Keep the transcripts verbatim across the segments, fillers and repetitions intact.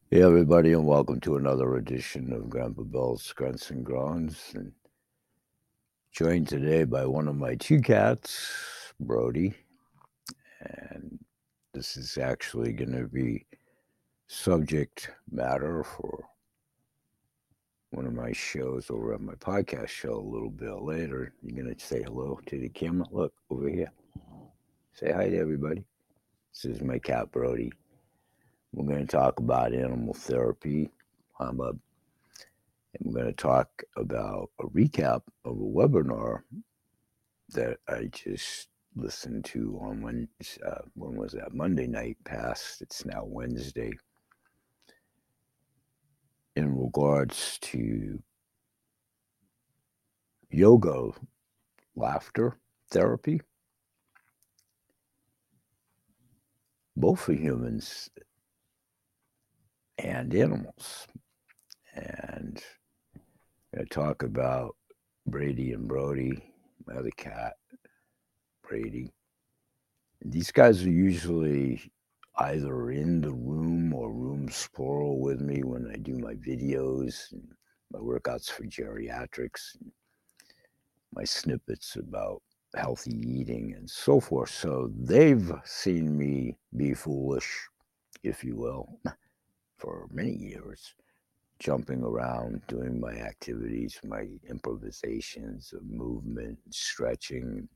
Hey everybody, and welcome to another edition of Grandpa Bell's Grunts and Groans. And joined today by one of my two cats, Brody. And this is actually going to be subject matter for one of my shows over at my podcast show a little bit later. You're going to say hello to the camera. Look over here. Say hi to everybody. This is my cat, Brody. We're going to talk about animal therapy. I'm a And we're going to talk about a recap of a webinar that I just listened to on when uh, when was that Monday night past? It's now Wednesday. In regards to yoga, laughter therapy, both for humans and animals, and I'm going to talk about Brady and Brody, my other cat, Brady. These guys are usually either in the room or rooms plural with me when I do my videos and my workouts for geriatrics, and my snippets about healthy eating and so forth. So they've seen me be foolish, if you will, for many years, jumping around, doing my activities, my improvisations of movement, stretching,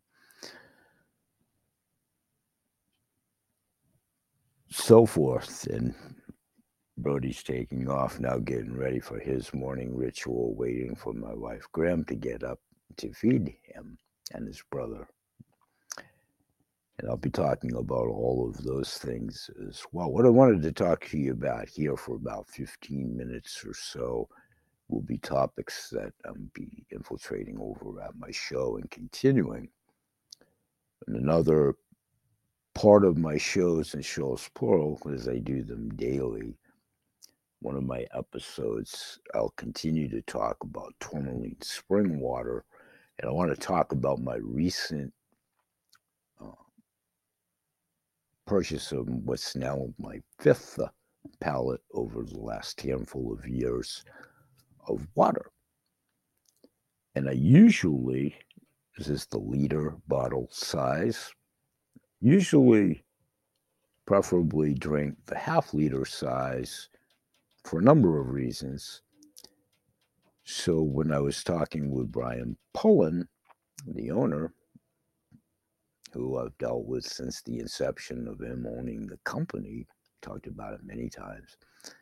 so forth. And Brody's taking off now, getting ready for his morning ritual, waiting for my wife Graham to get up to feed him and his brother. And I'll be talking about all of those things as well. What I wanted to talk to you about here for about fifteen minutes or so will be topics that I'll be infiltrating over at my show and continuing. And another part of my shows and shows plural, because I do them daily, one of my episodes, I'll continue to talk about tourmaline spring water. And I want to talk about my recent uh, purchase of what's now my fifth uh, pallet over the last handful of years of water. And I usually, this is the liter bottle size, usually preferably drink the half liter size for a number of reasons. So when I was talking with Brian Pullen, the owner, who I've dealt with since the inception of him owning the company, talked about it many times.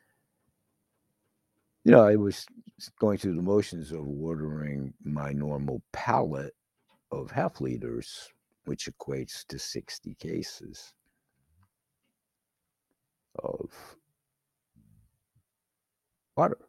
You know, I was going through the motions of ordering my normal pallet of half liters, which equates to sixty cases of water.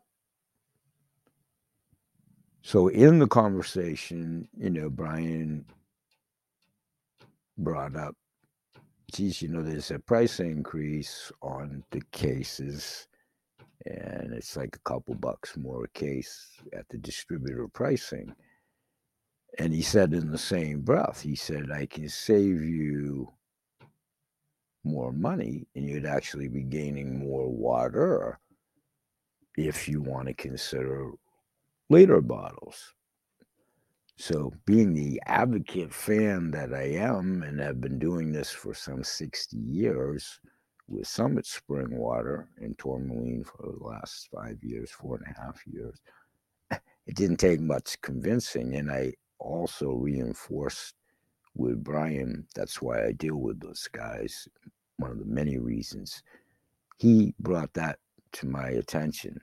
So in the conversation, you know, Brian brought up, geez, you know, there's a price increase on the cases, and it's like a couple bucks more a case at the distributor pricing. And he said in the same breath, he said, I can save you more money and you'd actually be gaining more water if you want to consider liter bottles. So, being the advocate fan that I am and have been doing this for some sixty years with Summit Spring Water and Tourmaline for the last five years, four and a half years, it didn't take much convincing. And I also reinforced with Brian, that's why I deal with those guys. One of the many reasons he brought that to my attention.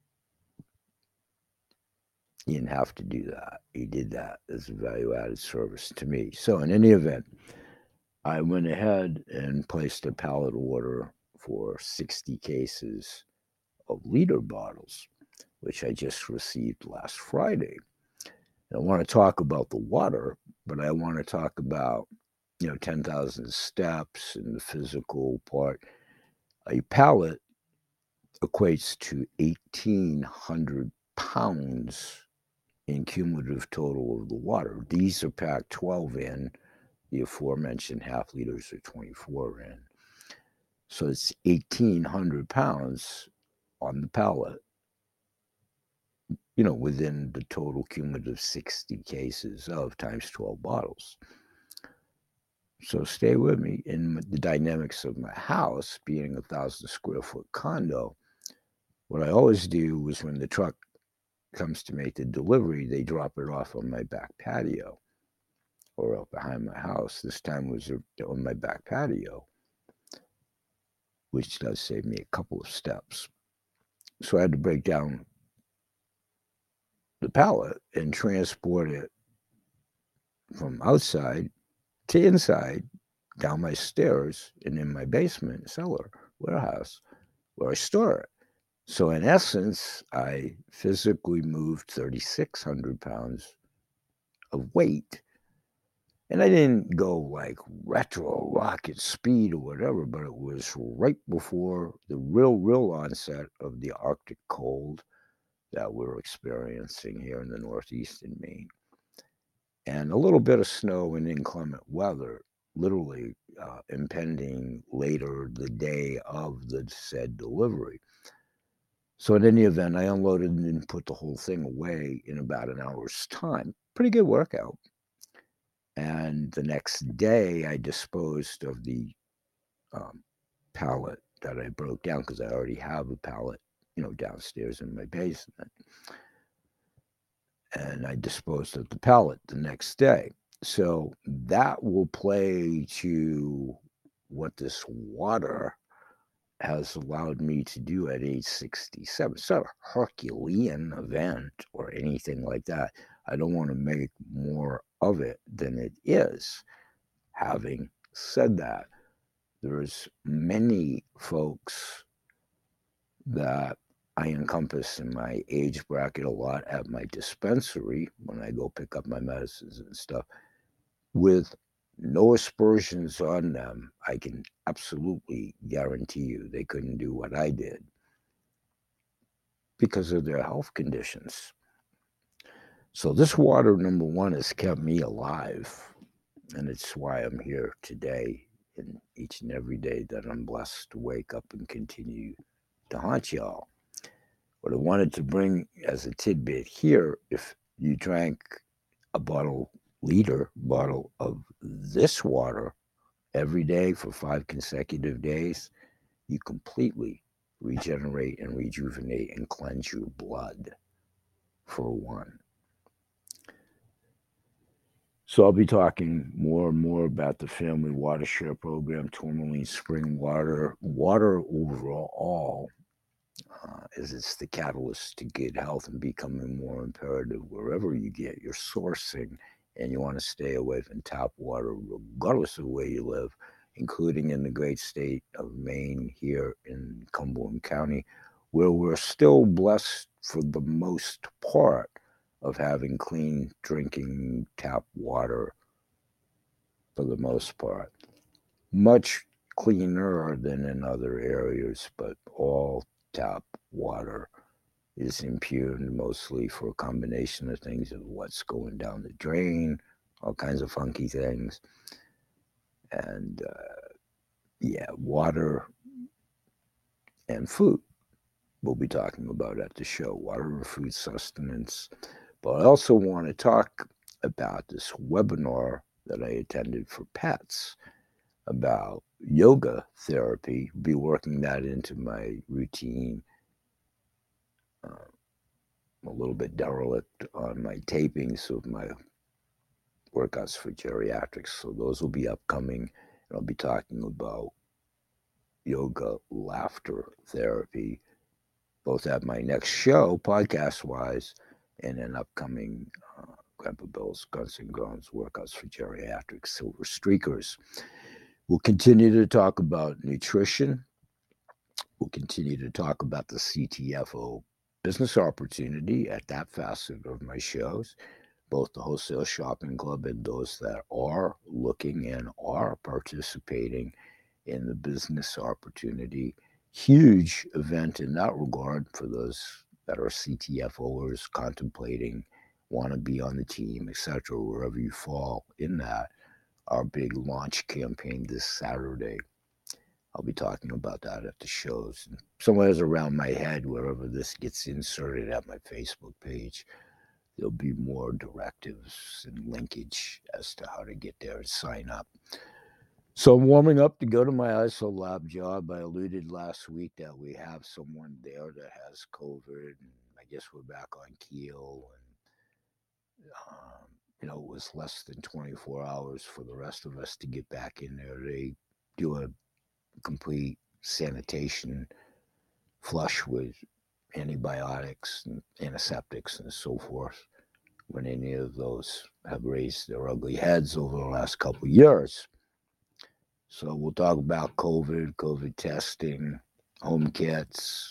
He didn't have to do that. He did that as a value added service to me. So, in any event, I went ahead and placed a pallet order for sixty cases of liter bottles, which I just received last Friday. I want to talk about the water, but I want to talk about, you know, ten thousand steps and the physical part. A pallet equates to eighteen hundred pounds in cumulative total of the water. These are packed twelve in, the aforementioned half liters are twenty-four in. So it's eighteen hundred pounds on the pallet, you know, within the total cumulative sixty cases of times twelve bottles. So stay with me. In the dynamics of my house, being a thousand square foot condo, what I always do is when the truck comes to make the delivery, they drop it off on my back patio or out behind my house. This time was on my back patio, which does save me a couple of steps. So I had to break down the pallet and transport it from outside to inside, down my stairs, and in my basement cellar warehouse where I store it. So in essence, I physically moved thirty-six hundred pounds of weight. And I didn't go like retro rocket speed or whatever, but it was right before the real, real onset of the Arctic cold that we're experiencing here in the Northeast in Maine. And a little bit of snow and inclement weather, literally uh, impending later the day of the said delivery. So in any event, I unloaded and put the whole thing away in about an hour's time. Pretty good workout. And the next day, I disposed of the um, pallet that I broke down because I already have a pallet, you know, downstairs in my basement. And I disposed of the pallet the next day. So that will play to what this water has allowed me to do at age sixty-seven. It's not a Herculean event or anything like that. I don't want to make more of it than it is. Having said that, there's many folks that I encompass in my age bracket a lot at my dispensary when I go pick up my medicines and stuff with no aspersions on them. I can absolutely guarantee you they couldn't do what I did because of their health conditions. So this water, number one, has kept me alive, and it's why I'm here today and each and every day that I'm blessed to wake up and continue to haunt y'all. What I wanted to bring as a tidbit here, if you drank a bottle, liter bottle of this water every day for five consecutive days, you completely regenerate and rejuvenate and cleanse your blood, for one. So I'll be talking more and more about the Family Water Share Program, Tourmaline Spring Water, water overall, uh, as it's the catalyst to good health and becoming more imperative wherever you get your sourcing, and you want to stay away from tap water regardless of where you live, including in the great state of Maine here in Cumberland County, where we're still blessed for the most part of having clean drinking tap water for the most part. Much cleaner than in other areas, but all tap water is impugned mostly for a combination of things of what's going down the drain, all kinds of funky things. And uh, yeah, water and food we'll be talking about at the show, water and food sustenance. But I also want to talk about this webinar that I attended for pets about yoga therapy, be working that into my routine. Uh, I'm a little bit derelict on my tapings of my workouts for geriatrics, so those will be upcoming. And I'll be talking about yoga laughter therapy, both at my next show, podcast wise, and an upcoming uh, Grandpa Bill's Guns and Groans workouts for geriatrics, Silver Streakers. We'll continue to talk about nutrition. We'll continue to talk about the C T F O business opportunity at that facet of my shows, both the Wholesale Shopping Club and those that are looking and are participating in the business opportunity. Huge event in that regard for those that are C T F Oers contemplating, want to be on the team, et cetera, wherever you fall in that. Our big launch campaign this Saturday. I'll be talking about that at the shows. And somewhere's around my head, wherever this gets inserted at my Facebook page, there'll be more directives and linkage as to how to get there and sign up. So I'm warming up to go to my I S O lab job. I alluded last week that we have someone there that has COVID, and I guess we're back on keel. And um, you know, it was less than twenty-four hours for the rest of us to get back in there. They do a complete sanitation flush with antibiotics and antiseptics and so forth when any of those have raised their ugly heads over the last couple of years. So we'll talk about COVID, COVID testing, home kits,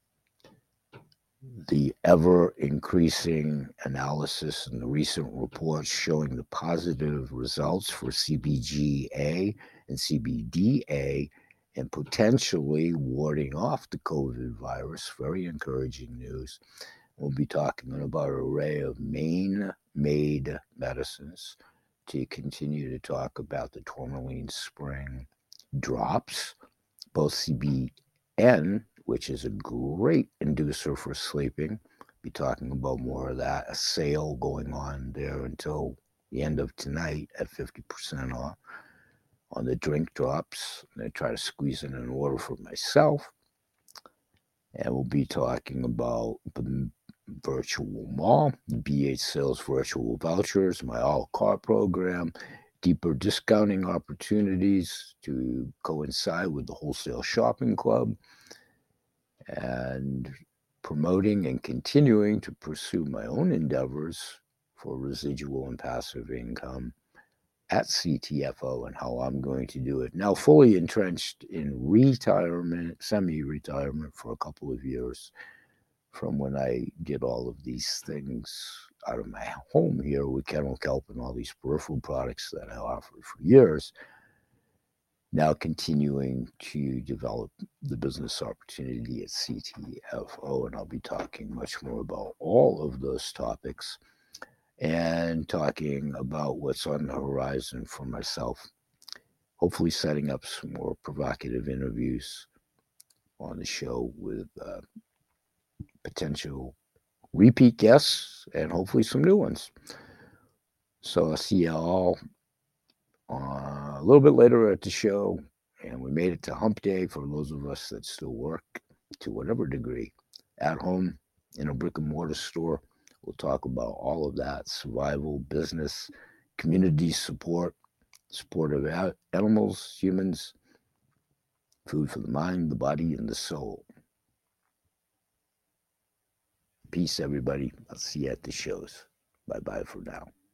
the ever increasing analysis and the recent reports showing the positive results for C B G A and C B D A and potentially warding off the COVID virus. Very encouraging news. We'll be talking about an array of Maine-made medicines to continue to talk about the tourmaline spring drops, both C B N, which is a great inducer for sleeping. Be talking about more of that. A sale going on there until the end of tonight at fifty percent off on the drink drops. I'm going to try to squeeze in an order for myself. And we'll be talking about the virtual mall, B H Sales virtual vouchers, my all-cart program, deeper discounting opportunities to coincide with the Wholesale Shopping Club, and promoting and continuing to pursue my own endeavors for residual and passive income at C T F O and how I'm going to do it. Now fully entrenched in retirement, semi-retirement for a couple of years from when I did all of these things out of my home here with Kennel Kelp and all these peripheral products that I offered for years. Now continuing to develop the business opportunity at C T F O, and I'll be talking much more about all of those topics and talking about what's on the horizon for myself. Hopefully setting up some more provocative interviews on the show with uh, potential repeat guests and hopefully some new ones. So I'll see you all uh, a little bit later at the show. And we made it to hump day for those of us that still work to whatever degree at home in a brick and mortar store. We'll talk about all of that: survival, business, community support, support of animals, humans, food for the mind, the body, and the soul. Peace, everybody. I'll see you at the shows. Bye-bye for now.